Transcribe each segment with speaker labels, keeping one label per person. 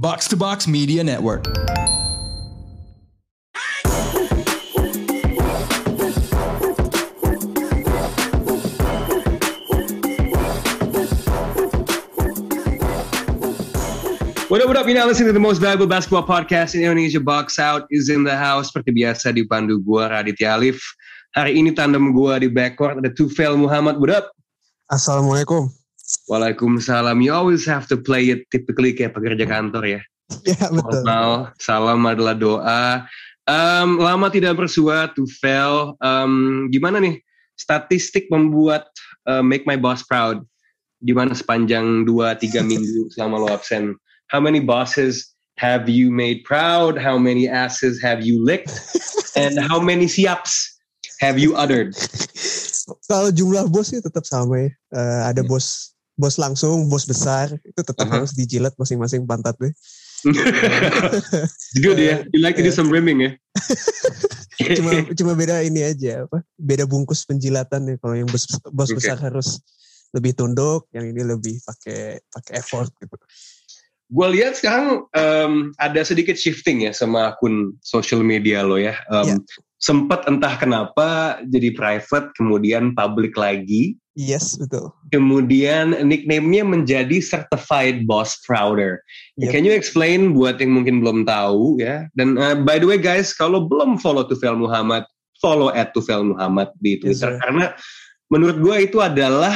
Speaker 1: Box to Box Media Network.
Speaker 2: What up? You're now listening to the most valuable basketball podcast in Indonesia. Box Out is in the house. Seperti biasa dipandu gue, Raditya Alif. Hari ini tandem gue di backcourt ada Tufail Muhammad. What up?
Speaker 3: Assalamualaikum.
Speaker 2: Waalaikumsalam. You always have to play it typically kayak pekerja kantor ya.
Speaker 3: Ya betul.
Speaker 2: Salam adalah doa. Lama tidak bersua Tufail. Gimana nih statistik membuat Make My Boss Proud? Gimana sepanjang 2-3 minggu selama lo absen? How many bosses have you made proud? How many asses have you licked? And how many siaps have you uttered?
Speaker 3: Kalau jumlah bos sih tetap sama ya. Ada bos langsung, bos besar. Itu tetap harus dijilat masing-masing pantatnya.
Speaker 2: Good ya. You like to do some rimming ya?
Speaker 3: cuma beda ini aja. Beda bungkus penjilatan ya. Kalau yang bos besar harus lebih tunduk, yang ini lebih pakai effort gitu.
Speaker 2: Gue lihat sekarang ada sedikit shifting ya sama akun social media lo ya. Sempet entah kenapa jadi private, kemudian public lagi.
Speaker 3: Yes, betul.
Speaker 2: Kemudian nickname-nya menjadi Certified Boss Prouder. Yep. Can you explain buat yang mungkin belum tahu ya? Dan by the way guys, kalau belum follow Tufail Muhammad, follow @tufailmuhammad di Twitter. Yes, karena menurut gue itu adalah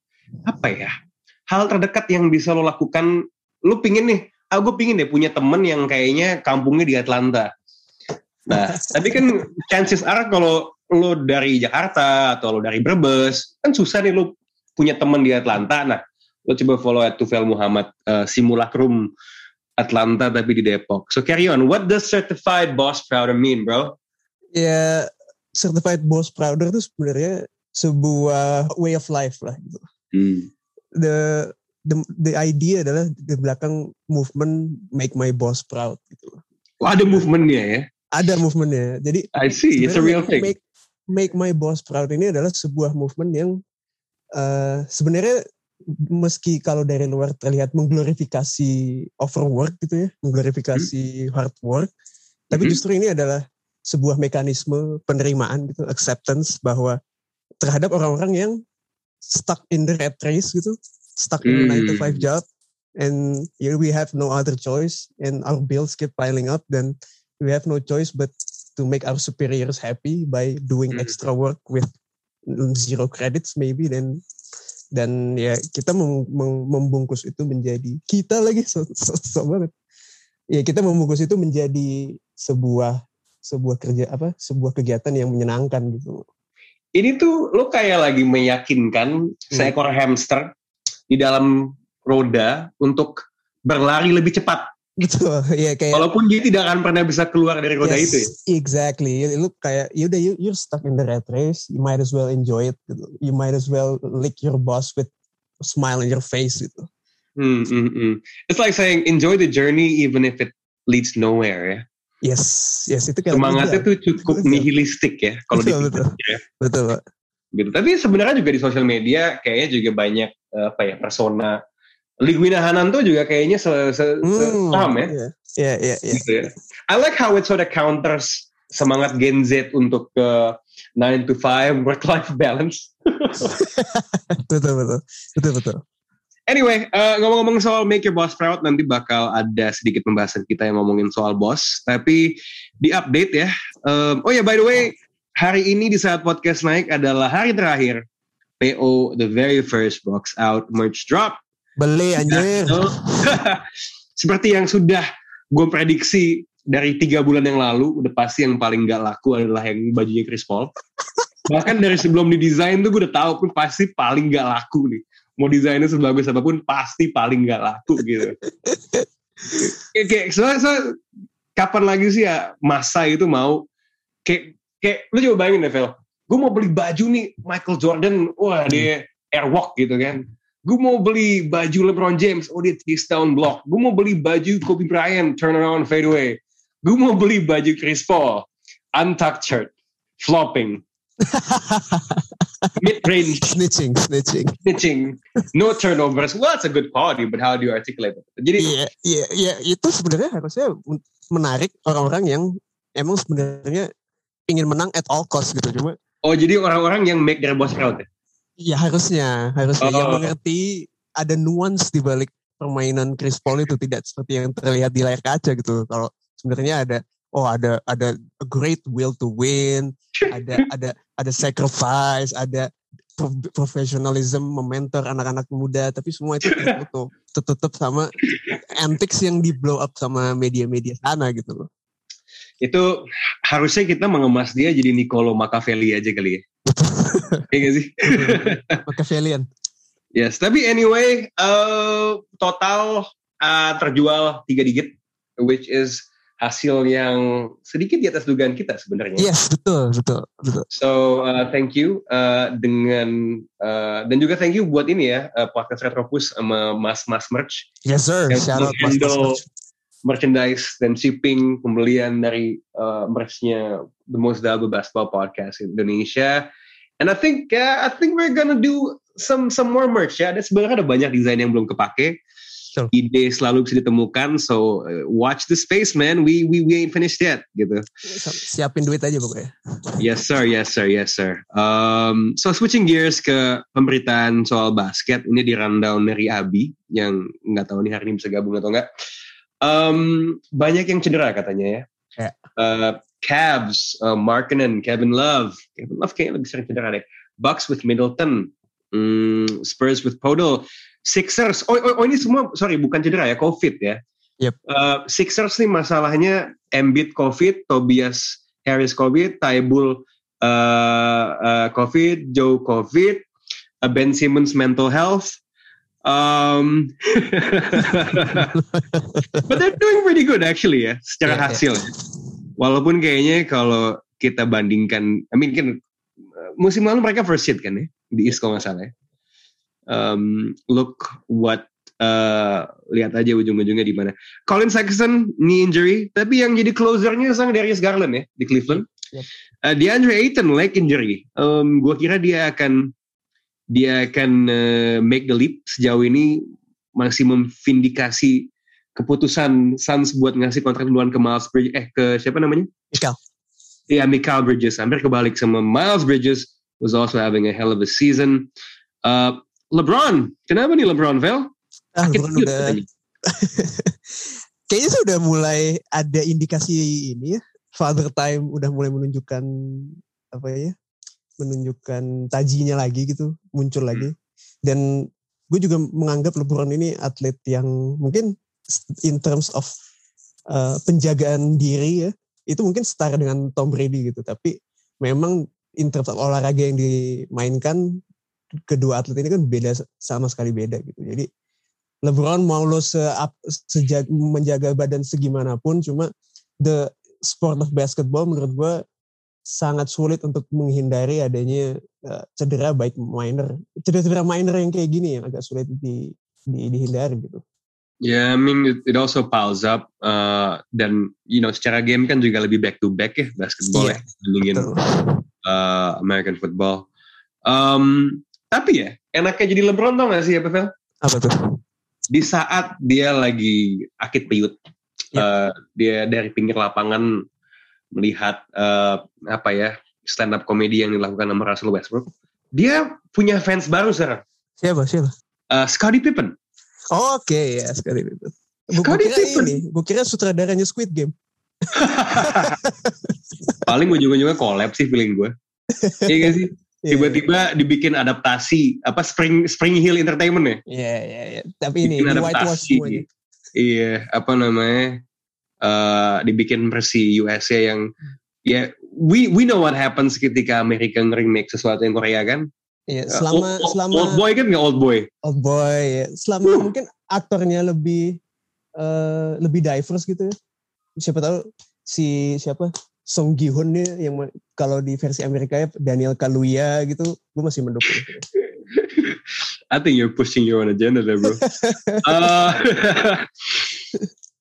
Speaker 2: hal terdekat yang bisa lo lakukan. Lu pingin nih, gue pingin deh punya temen yang kayaknya kampungnya di Atlanta. Nah, tapi kan chances are kalau lu dari Jakarta atau lu dari Brebes, kan susah nih lu punya temen di Atlanta. Nah, lu coba follow @Tufail Muhammad, simulacrum Atlanta tapi di Depok. So carry on, what does Certified Boss Prouder mean, bro?
Speaker 3: Ya, Certified Boss Prouder itu sebenarnya sebuah way of life lah gitu. The idea adalah di belakang movement Make My Boss Proud gitu.
Speaker 2: Oh, ada movementnya ya?
Speaker 3: Ada movementnya. Jadi
Speaker 2: I see, it's a real thing.
Speaker 3: Make My Boss Proud ini adalah sebuah movement yang sebenarnya meski kalau dari luar terlihat mengglorifikasi overwork gitu ya, mengglorifikasi hard work, tapi justru ini adalah sebuah mekanisme penerimaan gitu, acceptance bahwa terhadap orang-orang yang stuck in the rat race gitu, stuck in a 9-to-5 job, and we have no other choice, and our bills keep piling up, then we have no choice but to make our superiors happy by doing extra work with 0 credits maybe, dan ya kita membungkus itu menjadi kita lagi so banget. Ya kita membungkus itu menjadi sebuah kegiatan yang menyenangkan gitu.
Speaker 2: Ini tuh lo kayak lagi meyakinkan seekor hamster di dalam roda untuk berlari lebih cepat.
Speaker 3: Betul, ya kayak.
Speaker 2: Walaupun dia tidak akan pernah bisa keluar dari roda itu. Ya?
Speaker 3: Exactly. Lu kayak you're stuck in the rat race. You might as well enjoy it. Gitu. You might as well lick your boss with a smile on your face. Gitu.
Speaker 2: It's like saying enjoy the journey even if it leads nowhere. Ya.
Speaker 3: Yes, itu kayak
Speaker 2: semangatnya tuh cukup nihilistik ya kalau dipikir.
Speaker 3: Betul.
Speaker 2: Gitu. Tapi sebenarnya juga di sosial media kayaknya juga banyak persona. Liguina Hananto juga kayaknya paham ya.
Speaker 3: Iya.
Speaker 2: Gitu ya. I like how it sort of counters semangat Gen Z untuk 9-to-5 work-life balance.
Speaker 3: Betul.
Speaker 2: Anyway, ngomong-ngomong soal Make Your Boss Proud, nanti bakal ada sedikit pembahasan kita yang ngomongin soal boss. Tapi di update ya. By the way, hari ini di saat podcast naik adalah hari terakhir PO The Very First Box Out merch drop.
Speaker 3: Beli anjir.
Speaker 2: Seperti yang sudah gue prediksi dari 3 bulan yang lalu, udah pasti yang paling gak laku adalah yang bajunya Chris Paul. Bahkan dari sebelum didesain tuh gue udah tahu pun pasti paling gak laku nih. Mau desainnya sebagus apapun pasti paling gak laku gitu. So, kapan lagi sih ya masa itu mau kayak lu coba bayangin deh Vel, gue mau beli baju nih Michael Jordan, wah dia airwalk gitu kan. Gue mau beli baju LeBron James, dia twist down block. Gue mau beli baju Kobe Bryant, turn around fade away. Gue mau beli baju Chris Paul, untucked shirt, flopping. mid-range
Speaker 3: snitching.
Speaker 2: No turnovers. Well, it's a good quality, but how do you articulate it? Jadi
Speaker 3: itu sebenarnya harusnya menarik orang-orang yang emang sebenarnya ingin menang at all cost gitu. Cuma
Speaker 2: jadi orang-orang yang make their boss proud ya?
Speaker 3: Ya harusnya yang mengerti ada nuance di balik permainan Chris Paul itu, tidak seperti yang terlihat di layar kaca gitu. Kalau sebenarnya ada a great will to win, ada sacrifice, ada professionalism, mementor anak-anak muda, tapi semua itu tertutup sama antics yang di blow up sama media-media sana gitu loh.
Speaker 2: Itu harusnya kita mengemas dia jadi Niccolo Machiavelli aja kali ya. Iya gak sih?
Speaker 3: Machiavellian.
Speaker 2: Yes, tapi anyway, total terjual 3 digit, which is hasil yang sedikit di atas dugaan kita sebenarnya.
Speaker 3: Yes, betul.
Speaker 2: So thank you dan juga thank you buat ini ya, podcast Retropus sama Mas Merch.
Speaker 3: Yes sir, shout out Mas Merch.
Speaker 2: Merchandise dan shipping pembelian dari merchnya The Most Valuable Basketball Podcast in Indonesia. And I think we're gonna do some more merch ya. Sebenarnya ada banyak desain yang belum kepake.
Speaker 3: Sure.
Speaker 2: Ide selalu bisa ditemukan. So watch the space, man. We ain't finished yet, gitu.
Speaker 3: Siapin duit aja pokoknya.
Speaker 2: Yes sir. So switching gears ke pemberitaan soal basket. Ini di rundown dari Abi yang nggak tahu nih hari ini bisa gabung atau nggak. Banyak yang cedera katanya ya. Cavs, Markkanen, Kevin Love kayaknya lebih sering cedera deh. Bucks with Middleton, Spurs with Podol, Sixers. Ini semua bukan cedera ya, COVID ya.
Speaker 3: Yep.
Speaker 2: Sixers nih masalahnya Embiid COVID, Tobias Harris COVID, Thybulle COVID, Joe COVID, Ben Simmons mental health. But they're doing pretty good actually ya, secara hasil. Walaupun kayaknya kalau kita bandingkan, kan musim lalu mereka first seed kan ya, di East kalau nggak salah ya. Look what, lihat aja ujung-ujungnya di mana. Colin Sexton knee injury, tapi yang jadi closernya sang Darius Garland ya di Cleveland.
Speaker 3: Yep.
Speaker 2: DeAndre Ayton leg injury. Gua kira dia akan make the leap. Sejauh ini masih memvindikasi keputusan Suns buat ngasih kontrak duluan ke Miles Bridges, ke siapa namanya?
Speaker 3: Mikal.
Speaker 2: Iya, Mikal Bridges. Hampir kebalik sama Miles Bridges, was also having a hell of a season. LeBron, kenapa nih LeBron, Vel?
Speaker 3: LeBron udah kayaknya sudah mulai ada indikasi ini ya, father time udah mulai menunjukkan menunjukkan tajinya lagi gitu, muncul lagi. Dan gue juga menganggap LeBron ini atlet yang mungkin in terms of penjagaan diri ya, itu mungkin setara dengan Tom Brady gitu. Tapi memang in terms of olahraga yang dimainkan, kedua atlet ini kan sama sekali beda gitu. Jadi LeBron mau lo menjaga badan segimanapun, cuma the sport of basketball menurut gue sangat sulit untuk menghindari adanya cedera minor yang kayak gini yang agak sulit dihindari gitu.
Speaker 2: Yeah, I mean it also piles up dan secara game kan juga lebih back to back ya basketball ya dibandingin American football. Tapi ya enaknya jadi LeBron tau gak sih apa Vel?
Speaker 3: Apa tuh?
Speaker 2: Di saat dia lagi akit piut, dia dari pinggir lapangan melihat stand up comedy yang dilakukan sama Russell Westbrook, dia punya fans baru sekarang.
Speaker 3: Siapa?
Speaker 2: Scottie Pippen.
Speaker 3: Oke, ya Scottie Pippen. Gue kira sutradaranya Squid Game.
Speaker 2: Paling ujung-ujungnya collab sih feeling gue. Iya gak sih? Tiba-tiba dibikin adaptasi Spring Hill Entertainment ya?
Speaker 3: Iya. Tapi ini whitewash semuanya.
Speaker 2: Iya, dibikin versi USA yang we know what happens ketika Amerika nge-remake sesuatu yang Korea kan?
Speaker 3: Iya, selama
Speaker 2: Old Boy kan nggak Old Boy?
Speaker 3: Old Boy, ya. Selama mungkin aktornya lebih diverse gitu ya. Siapa tahu siapa Song Gi-hoon nih yang kalau di versi Amerika ya Daniel Kaluuya gitu, gue masih mendukung.
Speaker 2: I think you're pushing your own agenda there, bro.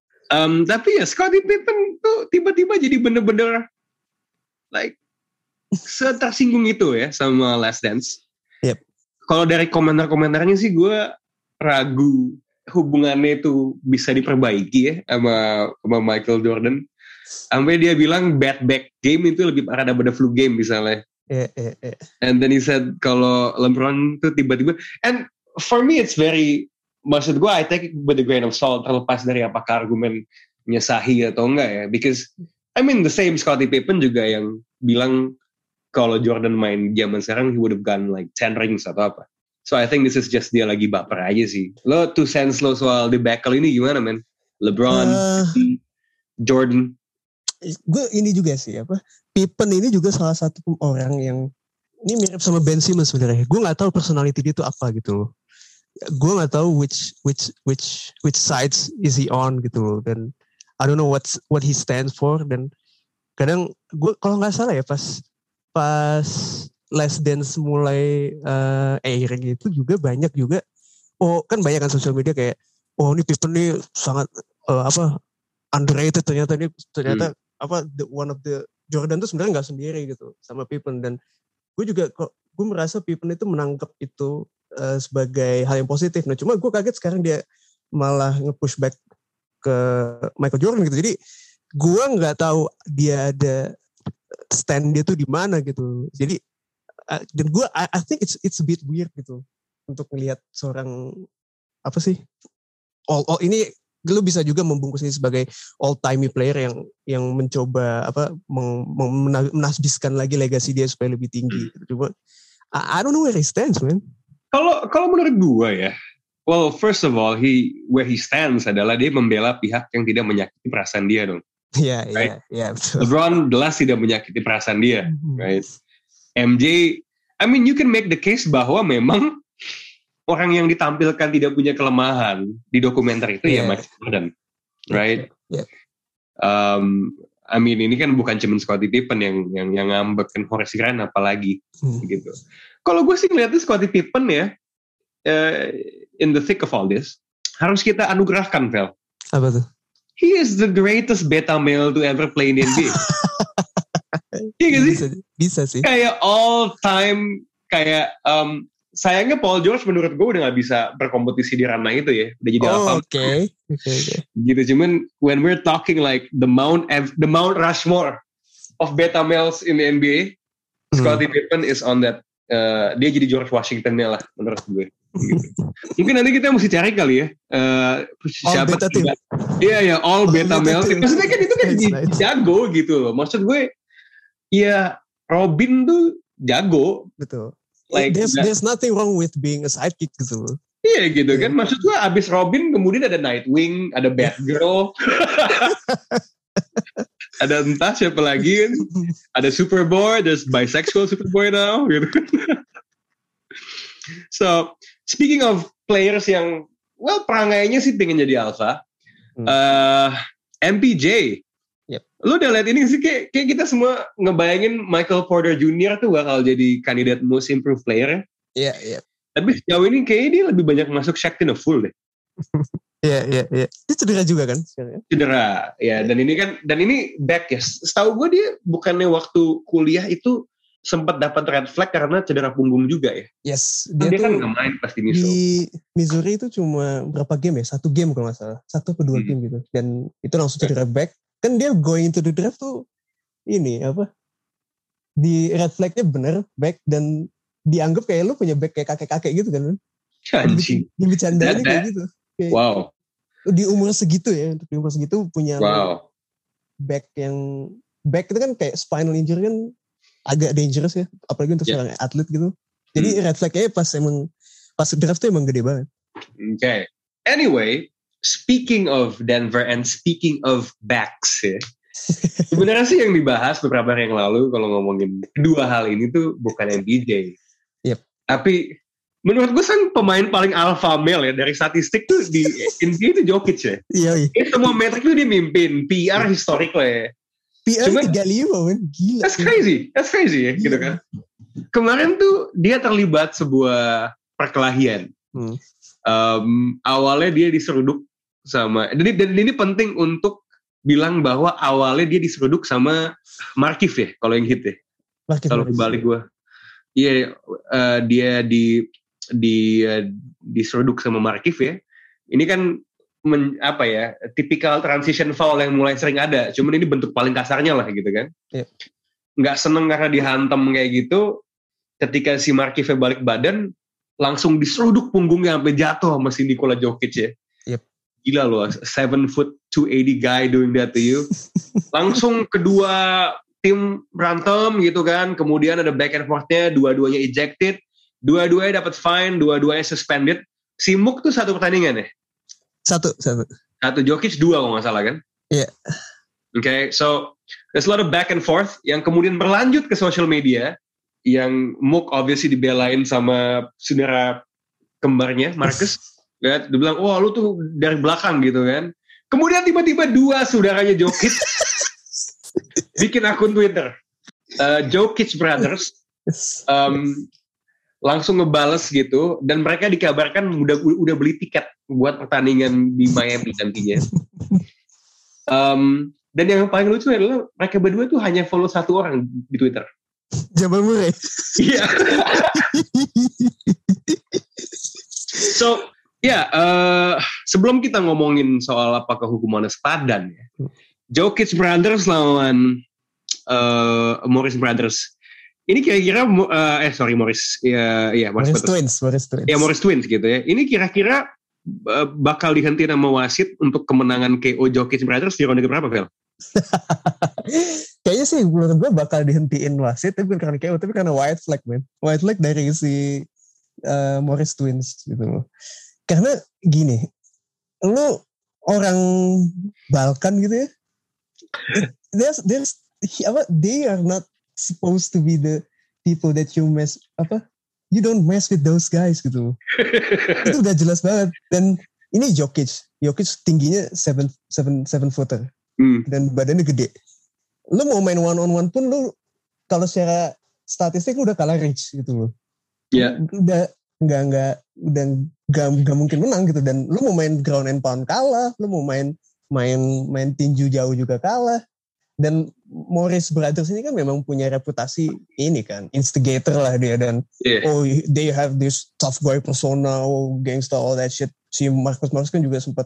Speaker 2: Tapi ya Scottie Pippen tuh tiba-tiba jadi bener-bener like setersinggung itu ya sama Last Dance.
Speaker 3: Yep.
Speaker 2: Kalau dari komentar-komentarnya sih gue ragu hubungannya itu bisa diperbaiki ya sama Michael Jordan. Sampai dia bilang bad back game itu lebih parah daripada flu game misalnya. And then he said kalau LeBron tuh tiba-tiba, and for me it's very, maksud gue I take it with a grain of salt, terlepas dari apakah argumennya sahih atau enggak ya, because I mean the same Scottie Pippen juga yang bilang kalau Jordan main zaman sekarang he would have gotten like 10 rings atau apa. So I think this is just dia lagi baper aja sih. Lo 2 cents lo soal debacle ini gimana men? LeBron, Jordan.
Speaker 3: Gue ini juga sih Pippen ini juga salah satu orang yang ini mirip sama Ben Simmons sebenarnya. Gue nggak tahu personality dia itu apa gitu loh. Gue nggak tahu which sides is he on gitu loh. Dan I don't know what he stands for. Dan kadang gue kalau nggak salah ya pas Last Dance mulai airing itu juga banyak juga. Kan banyak kan sosial media kayak ini Pippen nih sangat underrated ternyata one of the Jordan tuh sebenarnya nggak sendiri gitu sama Pippen. Dan gue merasa Pippen itu menangkap itu sebagai hal yang positif. Nah cuma gue kaget sekarang dia malah nge-push back ke Michael Jordan gitu. Jadi gue nggak tahu dia ada stand dia tuh di mana gitu. Jadi dan gue I think it's a bit weird gitu untuk melihat seorang all ini lu bisa juga membungkus ini sebagai all-time player yang mencoba menasbiskan lagi legasi dia supaya lebih tinggi. Cuma I don't know where he stands, man.
Speaker 2: Kalau menurut gue ya, well first of all where he stands adalah dia membela pihak yang tidak menyakiti perasaan dia dong.
Speaker 3: Iya,
Speaker 2: betul. LeBron jelas tidak menyakiti perasaan dia, right? MJ, I mean you can make the case bahwa memang orang yang ditampilkan tidak punya kelemahan di dokumenter itu ya Michael Jordan, right?
Speaker 3: Yeah.
Speaker 2: I mean ini kan bukan cuma Scottie Pippen yang ngambekin Horace Grant apalagi gitu. Kalau gue sih ngeliatnya Scottie Pippen ya in the thick of all this harus kita anugerahkan, Vel.
Speaker 3: Apa tuh?
Speaker 2: He is the greatest beta male to ever play in NBA. Iya gak sih?
Speaker 3: Bisa sih.
Speaker 2: Kayak all time kayak sayangnya Paul George menurut gue udah gak bisa berkompetisi di ranah itu ya. Udah jadi alpha.
Speaker 3: Oke.
Speaker 2: Gitu, cuman when we're talking like the Mount Rushmore of beta males in the NBA, Scottie Pippen is on that. Dia jadi George Washington-nya lah menurut gue. Gitu. Mungkin nanti kita mesti cari kali ya. Siapa
Speaker 3: beta team.
Speaker 2: Iya, all beta males. Maksudnya kan itu kan jago gitu loh. Maksud gue, ya Robin tuh jago.
Speaker 3: Betul.
Speaker 2: Like,
Speaker 3: there's nothing wrong with being a sidekick gitu loh.
Speaker 2: Iya gitu kan. Maksud gue abis Robin kemudian ada Nightwing, ada Batgirl. Ada entah siapa lagi kan. Ada Superboy, there's bisexual Superboy now gitu. So, speaking of players yang perangainya sih pengen jadi alpha. MPJ.
Speaker 3: Yep.
Speaker 2: Lu udah lihat ini sih kayak kita semua ngebayangin Michael Porter Jr. tuh bakal jadi kandidat most improved player.
Speaker 3: Iya.
Speaker 2: Tapi sejauh ini kayaknya dia lebih banyak masuk Shaqtin' a Fool deh.
Speaker 3: Iya. Dia cedera juga kan?
Speaker 2: Cedera, ya. Dan ini back ya. Setahu gue dia bukannya waktu kuliah itu sempat dapat red flag karena cedera punggung juga ya.
Speaker 3: Yes.
Speaker 2: Dia kan nggak main pas di Missouri.
Speaker 3: Di Missouri itu cuma berapa game ya? 1 game kalau nggak salah. 1 atau 2 game gitu. Dan itu langsung cedera back. Kan dia going to the draft tuh ini di red flagnya bener back dan dianggap kayak lu punya back kayak kakek-kakek gitu kan.
Speaker 2: Anjing.
Speaker 3: Dibicarain kayak gitu. Kayak,
Speaker 2: wow.
Speaker 3: Di umur segitu ya, untuk di umur segitu punya back itu kan kayak spinal injury kan agak dangerous ya, apalagi untuk seorang atlet gitu. Jadi red flagnya pas draft tuh emang gede banget.
Speaker 2: Okay. Anyway, speaking of Denver and speaking of backs ya. Sebenarnya sih yang dibahas beberapa hari yang lalu kalau ngomongin kedua hal ini tuh bukan MPJ.
Speaker 3: Yep.
Speaker 2: Tapi menurut gue kan pemain paling alpha male ya dari statistik tuh di NBA itu Jokic ya.
Speaker 3: Iya.
Speaker 2: Semua metrik tuh dia mimpin, PR historik lah ya.
Speaker 3: PR 35 man, gila.
Speaker 2: That's crazy ya gitu kan. Kemarin tuh dia terlibat sebuah perkelahian. Awalnya dia diseruduk sama, dan ini penting untuk bilang bahwa awalnya dia diseruduk sama Markieff ya, kalau yang hit ya. Selalu kebalik gue. Iya, dia diseruduk sama Markieff ya. Ini kan tipikal transition foul yang mulai sering ada. Cuman ini bentuk paling kasarnya lah gitu kan.
Speaker 3: Yep.
Speaker 2: Nggak seneng karena dihantam kayak gitu. Ketika si Markieff balik badan, langsung diseruduk punggungnya sampai jatuh sama si Nikola Jokic ya.
Speaker 3: Yep.
Speaker 2: Gila loh, 7 foot 280 guy doing that to you. Langsung kedua tim berantem gitu kan. Kemudian ada back and forth-nya, dua-duanya ejected. Dua-duanya dapat fine, dua-duanya suspended. Si Mook tuh 1 pertandingan ya?
Speaker 3: Satu
Speaker 2: Jokic 2 kalau nggak salah kan?
Speaker 3: Iya. Yeah.
Speaker 2: Okay, so there's a lot of back and forth yang kemudian berlanjut ke social media. Yang Mook obviously dibelain sama saudara kembarnya Marcus. Dia bilang, wah lu tuh dari belakang gitu kan. Kemudian tiba-tiba 2 saudaranya Jokic bikin akun Twitter. Jokic Brothers langsung ngebales gitu. Dan mereka dikabarkan udah beli tiket buat pertandingan di Miami nantinya. Dan yang paling lucu adalah mereka berdua tuh hanya follow 1 orang di Twitter.
Speaker 3: Jamal Murray.
Speaker 2: Iya. So, sebelum kita ngomongin soal apakah hukumannya sepadan ya. Jokic Brothers lawan Morris Brothers. Ini kira-kira Morris. Ya,
Speaker 3: Morris Twins.
Speaker 2: Ya, Morris Twins gitu ya. Ini kira-kira bakal dihentiin sama wasit untuk kemenangan KO Jokic Brothers di ronde keberapa, Vel?
Speaker 3: Kayaknya sih menurut gue bakal dihentiin wasit, tapi bukan karena KO, tapi karena white flag, man. White flag dari si Morris Twins gitu loh. Karena gini, lu orang Balkan gitu ya, they are not supposed to be the people that you you don't mess with those guys gitu. Itu udah jelas banget. Dan ini Jokic tingginya 7 footer. Dan badannya gede. Lu mau main one on one pun lu kalau secara statistik udah kalah Rich gitu loh.
Speaker 2: Iya.
Speaker 3: Yeah. Udah mungkin menang gitu. Dan lu mau main ground and pound kalah, lu mau main tinju jauh juga kalah. Dan Morris Brothers ini kan memang punya reputasi ini kan, instigator lah dia, dan they have this tough guy persona, gangster, all that shit. Si Marcus kan juga sempat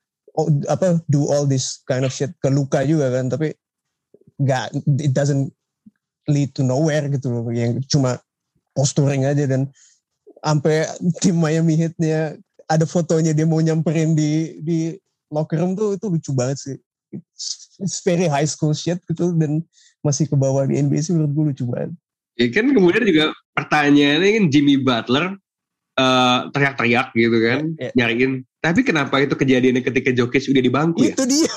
Speaker 3: do all this kind of shit ke Luka juga kan, tapi it doesn't lead to nowhere gitu loh, yang cuma posturing aja. Dan sampai tim Miami Heat-nya ada fotonya dia mau nyamperin di locker room tuh, itu lucu banget sih. It's very high school shit gitu, dan masih ke bawah di NBA sih menurut gue lucu banget.
Speaker 2: Ya kan, kemudian juga pertanyaannya kan Jimmy Butler teriak-teriak gitu kan, nyariin. Tapi kenapa itu kejadiannya ketika Jokic udah di bangku ya?
Speaker 3: Itu dia.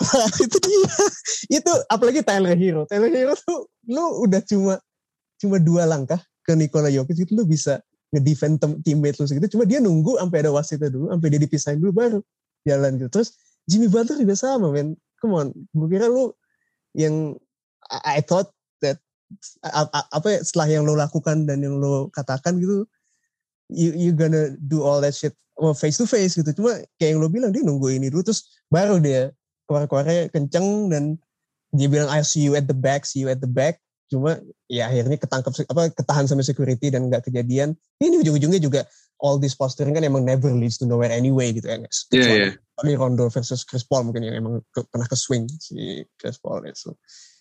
Speaker 3: Itu apalagi Tyler Hero tuh lu udah cuma 2 langkah ke Nikola Jokic itu lu bisa ngedefend teammate lu segitu. Cuma dia nunggu sampai ada wasitnya dulu, sampai dia dipisahin dulu baru jalan gitu. Terus Jimmy Butler juga sama, men. Come on, gue kira lu yang I thought that setelah yang lo lakukan dan yang lo katakan gitu, you gonna do all that shit face to face gitu. Cuma kayak yang lo bilang, dia nunggu ini dulu, terus baru dia keluar-keluarnya kenceng dan dia bilang I see you at the back. Cuma ya akhirnya ketahan sama security dan nggak kejadian. Ini ujung-ujungnya juga all this posturing kan emang never leads to nowhere anyway gitu kan. Tapi Rondo versus Chris Paul mungkin yang emang pernah ke swing si Chris Paul itu.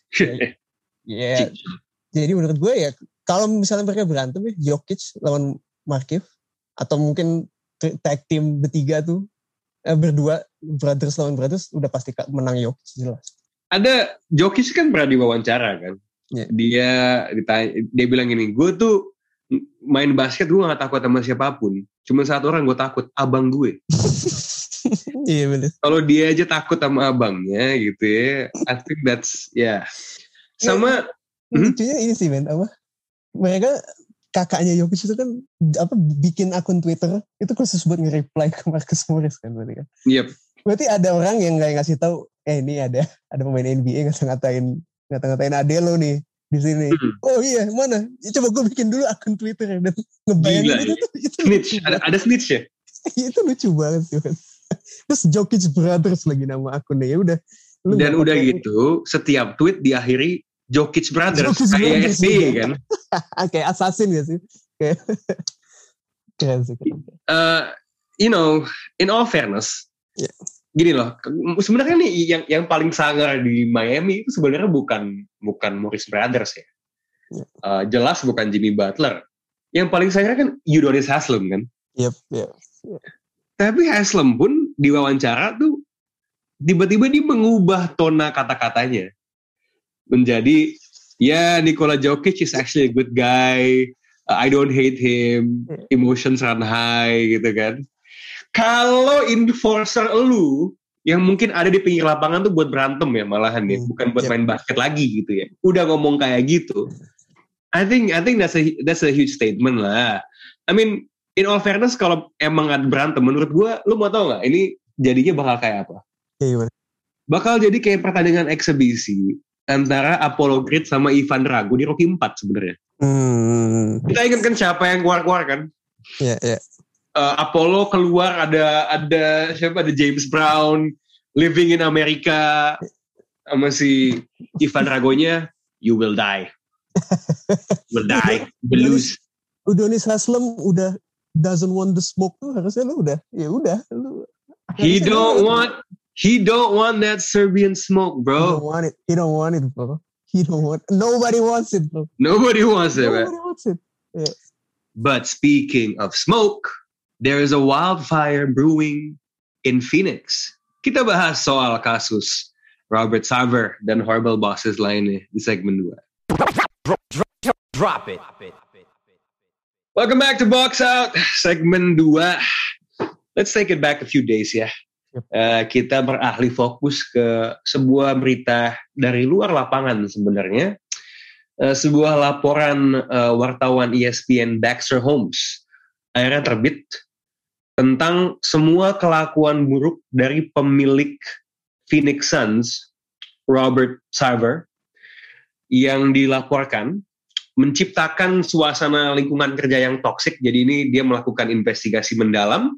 Speaker 3: Jadi menurut gue ya, kalau misalnya mereka berantem ya, Jokic lawan Markieff, atau mungkin tag team bertiga tuh, berdua, brothers lawan brothers, udah pasti menang Jokic jelas.
Speaker 2: Ada Jokic kan pernah diwawancara kan. Dia bilang gini, gue tuh main basket gue gak takut sama siapapun. Cuma 1 orang gue takut, abang gue.
Speaker 3: Iya bener.
Speaker 2: Kalau dia aja takut sama abangnya gitu ya, I think that's sama.
Speaker 3: Lucunya ini sih, men, mereka kakaknya Jokic itu kan bikin akun Twitter itu khusus buat nge-reply ke Marcus Morris kan, berarti kan.
Speaker 2: Yep.
Speaker 3: Berarti ada orang yang nggak ngasih tahu, ini ada pemain NBA ngata-ngatain ade lo nih di sini. Oh iya, mana? Coba gue bikin dulu akun Twitter dan ngebayangin itu
Speaker 2: snitch. Ada snitch ya?
Speaker 3: Itu lucu banget sih, man. Terus Jokic Brothers lagi nama akunnya, ya udah.
Speaker 2: Dan udah gitu, setiap tweet diakhiri Jokic Brothers
Speaker 3: Jokic
Speaker 2: kayak
Speaker 3: Brothers
Speaker 2: SBY
Speaker 3: juga.
Speaker 2: kan.
Speaker 3: Kayak assassin gak sih? Kayak keren sih.
Speaker 2: In all fairness,
Speaker 3: Yeah.
Speaker 2: gini loh, sebenarnya nih yang paling sangar di Miami itu sebenarnya bukan Morris Brothers ya.
Speaker 3: Yeah.
Speaker 2: Jelas bukan Jimmy Butler. Yang paling sangar kan Udonis Haslem kan.
Speaker 3: Yep.
Speaker 2: Tapi Haslem pun diwawancara tuh tiba-tiba dia mengubah tona kata-katanya menjadi Nikola Jokic is actually a good guy. I don't hate him. Emotions run high gitu kan. Kalau enforcer lu yang mungkin ada di pinggir lapangan tuh buat berantem ya malahan ya, bukan buat main basket lagi gitu ya. Udah ngomong kayak gitu. I think that's a huge statement lah. I mean, in all fairness kalau emang ada berantem menurut gue, lu mau tau nggak ini jadinya bakal kayak apa?
Speaker 3: Iya.
Speaker 2: Bakal jadi kayak pertandingan eksebisi antara Apollo Creed sama Ivan Drago di Rocky 4 sebenarnya. Kita ingat kan siapa yang keluar kan?
Speaker 3: Iya.
Speaker 2: Apollo keluar ada siapa? Ada James Brown living in America sama si Ivan Dragonya, you will die. You will die. You will lose.
Speaker 3: Udonis Haslem udah doesn't want the smoke tuh harusnya lu udah. Lu.
Speaker 2: He don't want that Serbian smoke, bro.
Speaker 3: He don't want it, bro. Nobody wants it, bro.
Speaker 2: Nobody wants it, man.
Speaker 3: Nobody wants it. Yeah.
Speaker 2: But speaking of smoke, there is a wildfire brewing in Phoenix. Kita bahas soal kasus Robert Sarver dan horrible bosses lainnya di segmen 2.
Speaker 1: Drop it.
Speaker 2: Welcome back to Box Out, segmen 2. Let's take it back a few days ya. Kita beralih fokus ke sebuah berita dari luar lapangan sebenarnya. Sebuah laporan wartawan ESPN Baxter Holmes akhirnya terbit tentang semua kelakuan buruk dari pemilik Phoenix Suns, Robert Sarver, yang dilaporkan menciptakan suasana lingkungan kerja yang toksik. Jadi ini dia melakukan investigasi mendalam,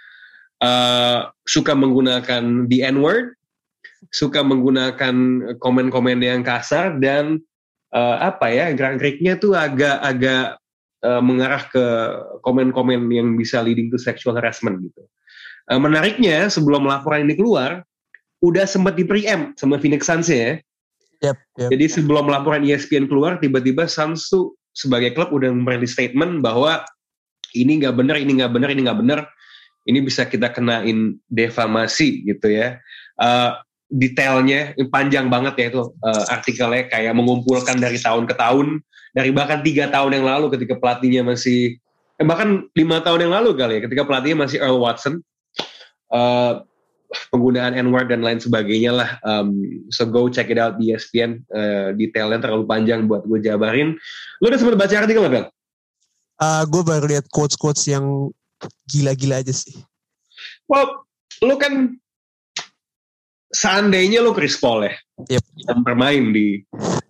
Speaker 2: suka menggunakan the N-word, suka menggunakan komen-komen yang kasar, dan gerak-geriknya tuh agak mengarah ke komen-komen yang bisa leading to sexual harassment gitu. Menariknya sebelum laporan ini keluar, udah sempat di-preempt sama Phoenix Suns ya.
Speaker 3: Yep.
Speaker 2: Jadi sebelum laporan ESPN keluar, tiba-tiba Suns tuh sebagai klub udah merilis statement bahwa ini nggak benar, ini bisa kita kenain defamasi gitu ya. Detailnya panjang banget ya itu artikelnya, kayak mengumpulkan dari tahun ke tahun, dari bahkan 3 tahun yang lalu ketika pelatihnya masih bahkan 5 tahun yang lalu kali ya, ketika pelatihnya masih Earl Watson, penggunaan N-word dan lain sebagainya lah. So go check it out di ESPN, detailnya terlalu panjang buat gue jabarin. Lu udah sempat baca artikel nggak, Bel?
Speaker 3: Gue baru lihat quotes yang gila-gila aja sih.
Speaker 2: Well, lu kan seandainya lu Chris Paul ya, yang bermain di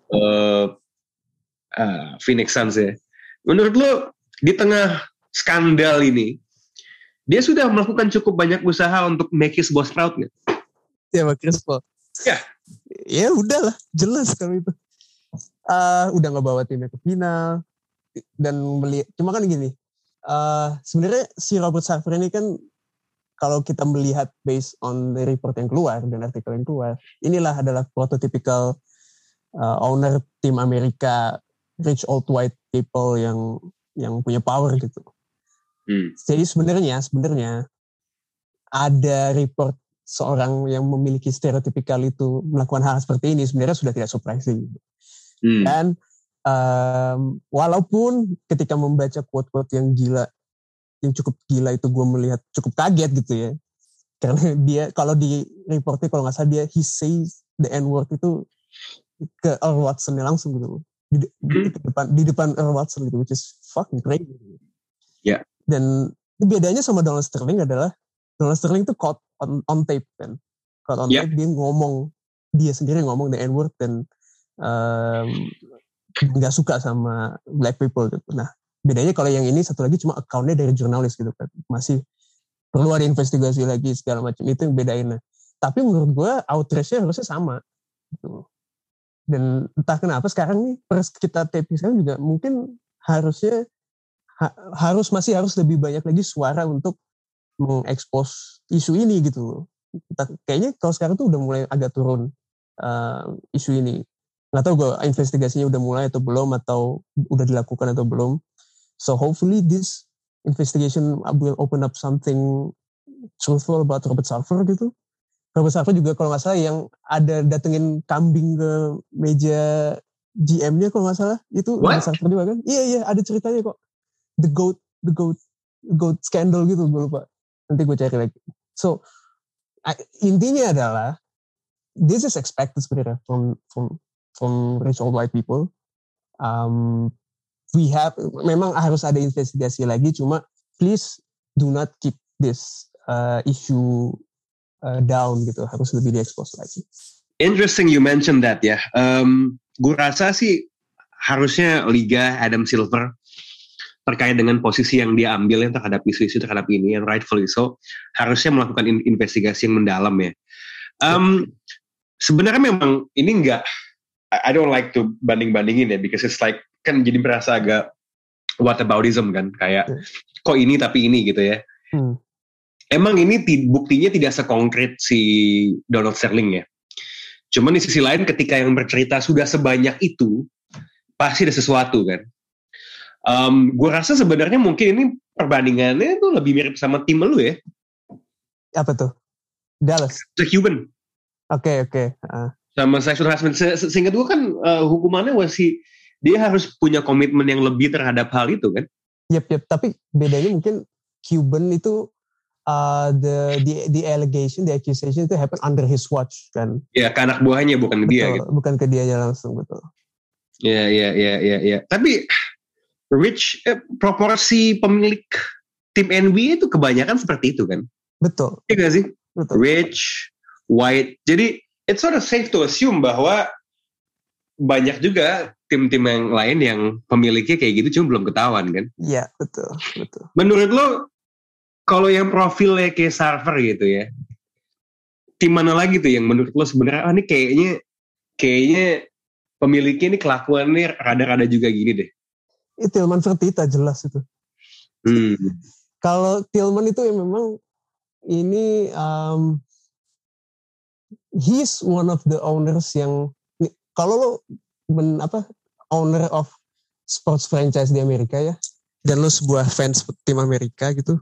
Speaker 2: Phoenix Suns ya. Menurut lu di tengah skandal ini, dia sudah melakukan cukup banyak usaha untuk make his boss proud nggak?
Speaker 3: Ya, Chris Paul. Ya udahlah, jelas kalau itu. Udah ngebawa timnya ke final dan cuma kan gini. Sebenarnya si Robert Sarver ini kan, kalau kita melihat based on the report yang keluar dan artikel yang keluar, inilah adalah prototypical owner tim Amerika, rich old white people yang punya power gitu. Jadi sebenarnya ada report seorang yang memiliki stereotipikal itu melakukan hal seperti ini sebenarnya sudah tidak surprising. Dan walaupun ketika membaca quote-quote yang gila, yang cukup gila itu gue melihat cukup kaget gitu ya, karena dia kalau di reportnya kalau nggak salah dia he says the N-word itu ke Earl Watson langsung gitu, di depan Earl Watson gitu, which is fucking crazy.
Speaker 2: Yeah.
Speaker 3: Dan bedanya sama Donald Sterling adalah Donald Sterling itu caught on tape kan, caught on tape dia sendiri ngomong the N-word dan nggak suka sama black people gitu. Nah bedanya kalau yang ini satu lagi cuma accountnya dari jurnalis gitu kan, masih perlu ada investigasi lagi segala macam, itu yang bedain. Tapi menurut gue outrage-nya harusnya sama gitu. Dan entah kenapa sekarang nih pers kita taping sekarang juga mungkin harusnya masih harus lebih banyak lagi suara untuk mengekspos isu ini gitu. Kayaknya kalau sekarang tuh udah mulai agak turun isu ini. Nggak tahu gue investigasinya udah mulai atau belum, atau udah dilakukan atau belum. So hopefully this investigation will open up something truthful about Robert Sarver gitu. Robert Sarver juga kalau nggak salah yang ada datengin kambing ke meja GM-nya kalau nggak salah, itu Robert Sarver juga kan? Iya ada ceritanya kok. The goat scandal gitu, gue lupa. Nanti gue cari lagi. So intinya adalah this is expected sebenarnya from rich old white people. Memang harus ada investigasi lagi, cuma please do not keep this issue down gitu, harus lebih diekspos lagi.
Speaker 2: Interesting you mentioned that ya. Gue rasa sih harusnya Liga Adam Silver terkait dengan posisi yang dia ambil terhadap isu-isu terhadap ini, yang rightfully so, harusnya melakukan investigasi yang mendalam ya. Sebenarnya memang ini enggak, I don't like to banding-bandingin ya, because it's like, kan jadi merasa agak whataboutism kan, kayak kok ini tapi ini gitu ya. Emang ini buktinya tidak sekonkret si Donald Sterling ya. Cuman di sisi lain ketika yang bercerita sudah sebanyak itu, pasti ada sesuatu kan. Gue rasa sebenarnya mungkin ini perbandingannya tuh lebih mirip sama tim lu ya.
Speaker 3: Apa tuh? Dallas.
Speaker 2: The Cuban.
Speaker 3: Oke.
Speaker 2: Sama sexual harassment. Seingat gue kan hukumannya masih dia harus punya komitmen yang lebih terhadap hal itu kan.
Speaker 3: Yep. Tapi bedanya mungkin Cuban itu the allegation, the accusation itu happen under his watch kan. Ya,
Speaker 2: ke anak buahnya bukan ke dia gitu.
Speaker 3: Bukan ke dianya langsung, betul.
Speaker 2: Ya. Tapi proporsi pemilik tim NBA itu kebanyakan seperti itu kan.
Speaker 3: Betul.
Speaker 2: Iya gak sih?
Speaker 3: Betul.
Speaker 2: Rich, white. Jadi it's sort of safe to assume bahwa banyak juga tim-tim yang lain yang pemiliknya kayak gitu cuma belum ketahuan kan.
Speaker 3: Iya, betul.
Speaker 2: Menurut lo, kalau yang profilnya kayak Sarver gitu ya, tim mana lagi tuh yang menurut lo sebenarnya ini kayaknya pemiliknya ini kelakuannya rada-rada juga gini deh.
Speaker 3: Tillman Fertitta jelas itu. Kalau Tillman itu ya memang ini he's one of the owners yang kalau lo owner of sports franchise di Amerika ya, dan lo sebuah fans tim Amerika gitu,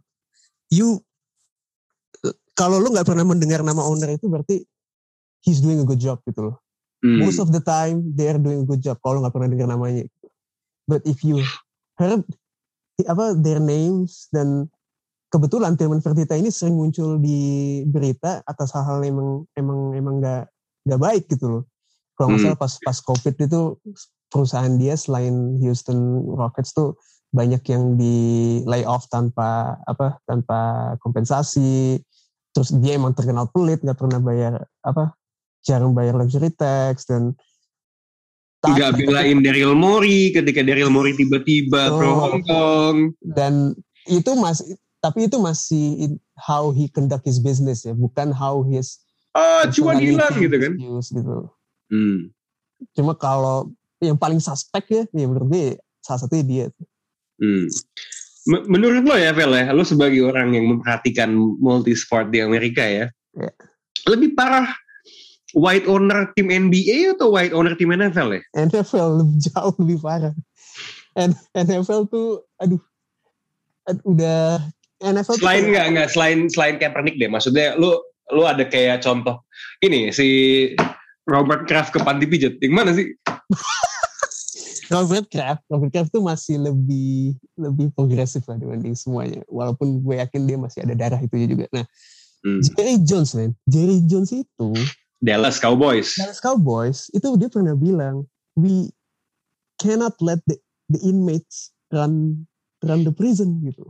Speaker 3: kalau lo nggak pernah mendengar nama owner itu berarti he's doing a good job gitu loh. Most of the time they are doing a good job kalau nggak pernah dengar namanya. But if you heard their names, dan kebetulan Tillman Fertitta ini sering muncul di berita atas hal-hal yang emang nggak baik gitu loh. Kalau nggak salah pas COVID itu perusahaan dia selain Houston Rockets tuh banyak yang di lay off tanpa kompensasi. Terus dia emang terkenal pelit, nggak pernah jarang bayar luxury tax, dan
Speaker 2: nggak belain Daryl Morey ketika Daryl Morey tiba-tiba pro Hong Kong.
Speaker 3: Dan itu masih how he conduct his business ya, bukan how his
Speaker 2: cuan hilang gitu kan.
Speaker 3: Gitu. Cuma kalau yang paling suspek ya menurut gue salah satunya dia.
Speaker 2: Menurut lo ya, Vel ya, lo sebagai orang yang memperhatikan multisport di Amerika ya, lebih parah white owner tim NBA atau white owner tim NFL ya?
Speaker 3: NFL jauh lebih parah. NFL tuh, udah NFL.
Speaker 2: Selain Kaepernick deh, maksudnya lu ada kayak contoh ini si Robert Kraft ke panti pijat, yang mana sih?
Speaker 3: Robert Kraft tuh masih lebih progresif lah dibanding semuanya. Walaupun gue yakin dia masih ada darah itu juga. Nah, Jerry Jones itu
Speaker 2: Dallas Cowboys
Speaker 3: itu dia pernah bilang, we cannot let the inmates run the prison gitu.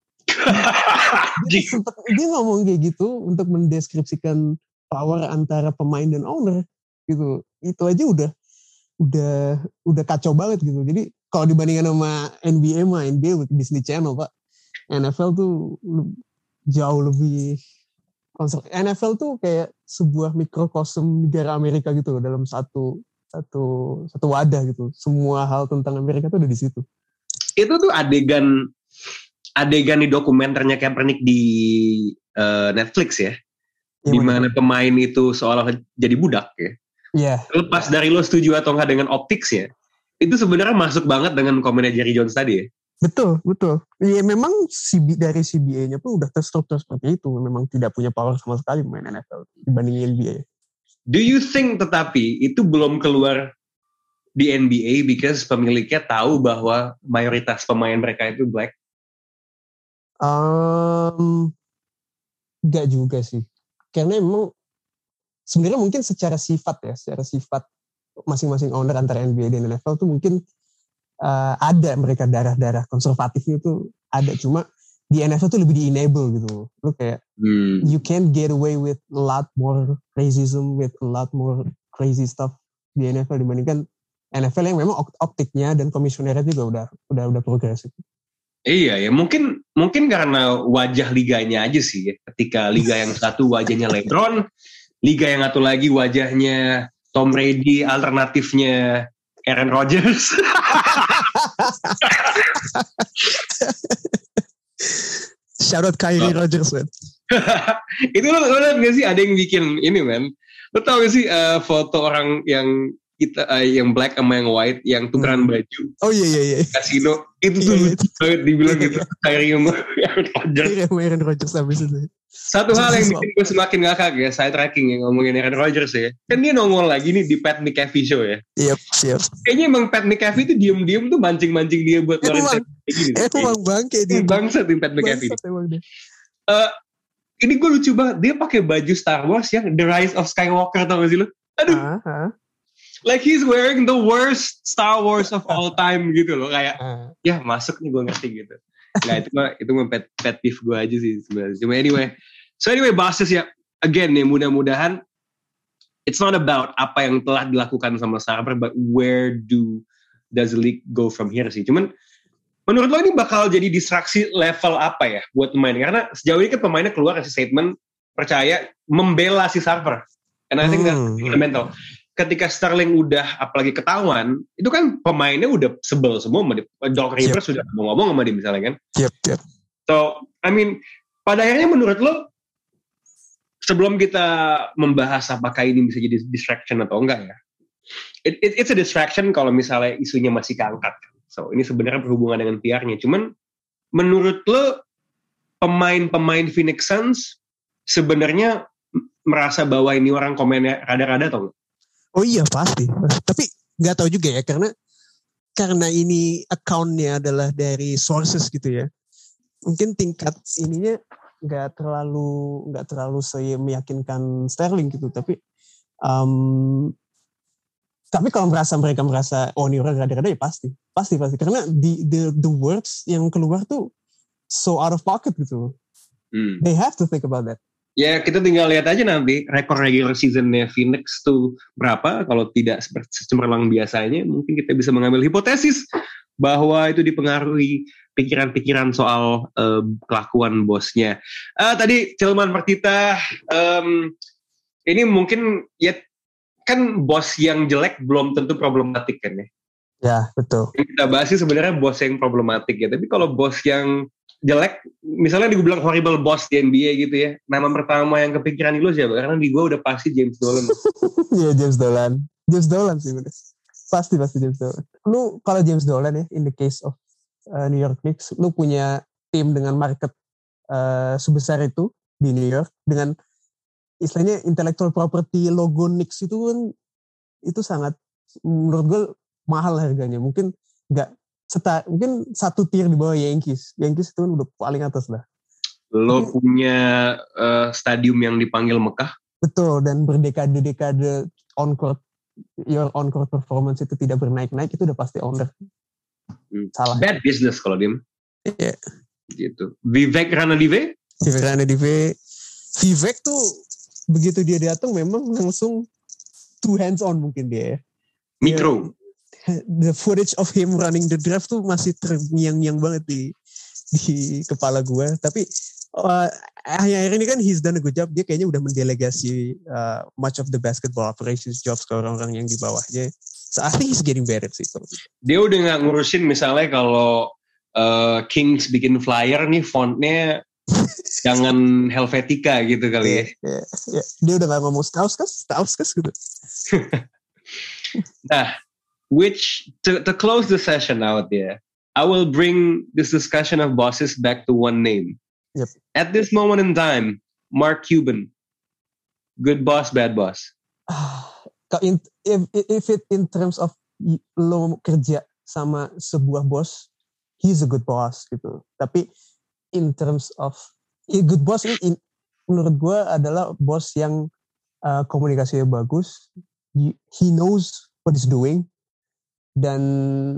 Speaker 3: Dia ngomong kayak gitu untuk mendeskripsikan power antara pemain dan owner gitu. Itu aja udah kacau banget gitu. Jadi kalau dibandingkan sama NBA Disney Channel Pak, NFL tuh jauh lebih NFL tuh kayak sebuah mikrokosm negara Amerika gitu loh, dalam satu satu wadah gitu. Semua hal tentang Amerika tuh ada di situ.
Speaker 2: Itu tuh adegan di dokumenternya Kaepernick di Netflix ya. Di mana pemain itu seolah jadi budak ya.
Speaker 3: Iya.
Speaker 2: Lepas dari lo setuju atau enggak dengan optics ya, itu sebenarnya masuk banget dengan komennya Jerry Jones tadi ya.
Speaker 3: Betul. Ya memang dari CBA-nya pun udah terstruktur seperti itu. Memang tidak punya power sama sekali main NFL dibanding NBA.
Speaker 2: Do you think tetapi itu belum keluar di NBA because pemiliknya tahu bahwa mayoritas pemain mereka itu black?
Speaker 3: Enggak juga sih. Karena emang sebenarnya mungkin secara sifat masing-masing owner antara NBA dan NFL tuh mungkin ada mereka darah-darah konservatifnya tuh ada, cuma di NFL tuh lebih di-enable gitu. Lu kayak you can't get away with a lot more racism, with a lot more crazy stuff di NFL dibandingkan NFL yang memang optiknya dan komisionernya juga udah progresif.
Speaker 2: Iya ya, mungkin karena wajah liganya aja sih ya. Ketika liga yang satu wajahnya LeBron, liga yang satu lagi wajahnya Tom Brady, alternatifnya Aaron Rodgers.
Speaker 3: Shout out Kyrie Rodgers, man.
Speaker 2: Itu lo lihat gak sih ada yang bikin ini, man? Lo tau gak sih foto orang yang yang black sama yang white yang tukeran baju?
Speaker 3: Oh iya.
Speaker 2: Kasino itu tuh banget dibilang gitu. Kyrie sama
Speaker 3: Aaron Rodgers habis itu.
Speaker 2: Satu hal yang bikin gue semakin ngakak ya, side tracking yang ngomongin Aaron Rodgers ya. Kan dia nongol lagi nih di Pat McAfee show ya.
Speaker 3: Yep.
Speaker 2: Kayaknya emang Pat McAfee tuh diem-diem tuh mancing-mancing dia buat ngeluarin kayak gini.
Speaker 3: Emang bangke dia.
Speaker 2: Bangsat Pat McAfee. Ini gue lucu banget. Dia pakai baju Star Wars ya, The Rise of Skywalker, tau gak sih lu? Aduh. Like he's wearing the worst Star Wars of all time gitu loh. Kayak, ya masuk nih gue ngerti gitu. Nah itu mah pet peeve gue aja sih sebenarnya. Cuma anyway bahas ya. Again nih mudah-mudahan it's not about apa yang telah dilakukan sama Sarver, but where does the league go from here sih. Cuman menurut lo ini bakal jadi distraksi level apa ya buat pemain? Karena sejauh ini kan pemainnya keluar kasih statement percaya membela si Sarver. And I think that's fundamental. Ketika Sterling udah apalagi ketahuan, itu kan pemainnya udah sebel semua sama dia. Doc Rivers sudah ngomong sama dia misalnya kan.
Speaker 3: Yep.
Speaker 2: So, I mean, pada akhirnya menurut lo, sebelum kita membahas apakah ini bisa jadi distraction atau enggak ya, it's a distraction kalau misalnya isunya masih keangkat. So, ini sebenarnya berhubungan dengan PR-nya. Cuman, menurut lo, pemain-pemain Phoenix Suns sebenarnya merasa bahwa ini orang komennya rada-rada atau enggak?
Speaker 3: Oh iya pasti. Tapi nggak tahu juga ya karena ini account-nya adalah dari sources gitu ya. Mungkin tingkat ininya nggak terlalu meyakinkan Sterling gitu. Tapi kalau mereka merasa ini orang rada-rada ya pasti karena the words yang keluar tuh so out of pocket gitu. They have to think about that.
Speaker 2: Ya kita tinggal lihat aja nanti rekor regular seasonnya Phoenix tuh berapa. Kalau tidak cemerlang biasanya, mungkin kita bisa mengambil hipotesis bahwa itu dipengaruhi pikiran-pikiran soal kelakuan bosnya. Tadi Cilman Martita, ini mungkin ya kan bos yang jelek belum tentu problematik kan ya.
Speaker 3: Ya betul.
Speaker 2: Yang kita bahas sih sebenarnya bos yang problematik ya. Tapi kalau bos yang jelek, misalnya dibilang horrible boss di NBA gitu ya, nama pertama yang kepikiran di lo siapa? Karena di gue udah pasti James Dolan.
Speaker 3: Iya James Dolan sih udah. Pasti James Dolan. Lu kalau James Dolan ya, in the case of New York Knicks, lu punya tim dengan market sebesar itu di New York, dengan istilahnya intellectual property logo Knicks itu kan, itu sangat menurut gue mahal harganya. Mungkin mungkin satu tier di bawah Yankees itu kan udah paling atas lah.
Speaker 2: Lo punya stadium yang dipanggil Mekah.
Speaker 3: Betul, dan berdekade-dekade your on-court performance itu tidak bernaik-naik, itu udah pasti owner. Salah.
Speaker 2: Bad business kalau dia.
Speaker 3: Iya.
Speaker 2: Gitu. Vivek Ranadive
Speaker 3: tuh begitu dia datang memang langsung two hands on mungkin dia.
Speaker 2: Mikro.
Speaker 3: The footage of him running the draft tuh masih terngiang-ngiang banget di kepala gue. Tapi akhir-akhir ini kan he's done a good job. Dia kayaknya udah mendelegasi much of the basketball operations jobs ke orang-orang yang di bawahnya. So I think he's getting better sih.
Speaker 2: Dia udah gak ngurusin misalnya kalau Kings bikin flyer nih fontnya jangan Helvetica gitu kali ya.
Speaker 3: Yeah. Dia udah gak ngomong Stauskas gitu.
Speaker 2: Nah, which to close the session out there, I will bring this discussion of bosses back to one name.
Speaker 3: Yep.
Speaker 2: At this moment in time, Mark Cuban, good boss, bad boss.
Speaker 3: If it in terms of lo kerja sama sebuah bos, he's a good boss gitu. Tapi in terms of good boss ini menurut gue adalah bos yang komunikasinya bagus. He knows what he's doing dan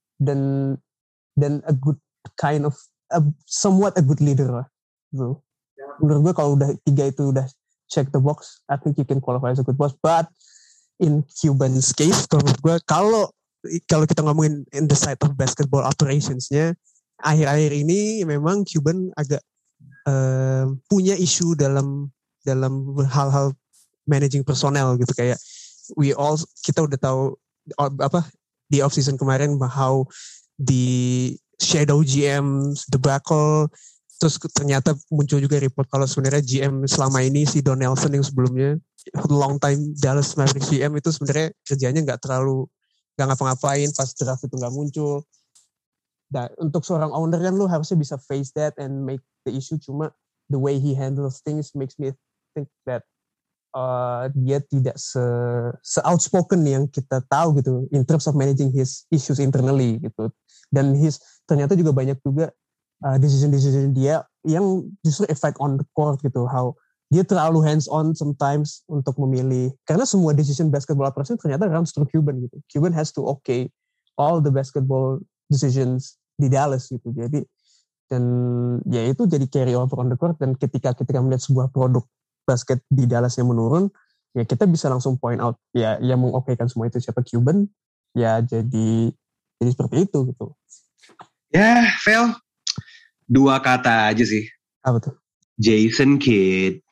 Speaker 3: a good kind of somewhat a good leader lah. So, menurut gue kalau udah 3 itu udah check the box, I think you can qualify as a good boss. But in Cuban's case, kalau menurut gue kalau kita ngomongin in the side of basketball operationsnya, akhir-akhir ini memang Cuban agak punya isu dalam hal-hal managing personnel gitu, kayak kita udah tahu di off season kemarin how the shadow GM debacle, terus ternyata muncul juga report kalau sebenarnya GM selama ini si Don Nelson yang sebelumnya long time Dallas Mavericks GM itu sebenarnya kerjanya nggak ngapa-ngapain, pas draft itu nggak muncul. Dan untuk seorang owner kan lu harusnya bisa face that and make the issue, cuma the way he handles things makes me think that dia tidak se-outspoken yang kita tahu gitu in terms of managing his issues internally gitu. Dan ternyata juga banyak juga decision dia yang justru effect on the court gitu, how dia terlalu hands on sometimes untuk memilih, karena semua decision basketball operation ternyata runs through Cuban gitu. Cuban has to okay all the basketball decisions di Dallas gitu. Jadi dan ya itu jadi carry over on the court, dan ketika melihat sebuah produk basket di Dallas yang menurun, ya kita bisa langsung point out ya yang mengokekan semua itu siapa, Cuban. Ya jadi seperti itu gitu.
Speaker 2: Ya, Vel, 2 kata aja sih.
Speaker 3: Apa tuh?
Speaker 2: Jason Kidd.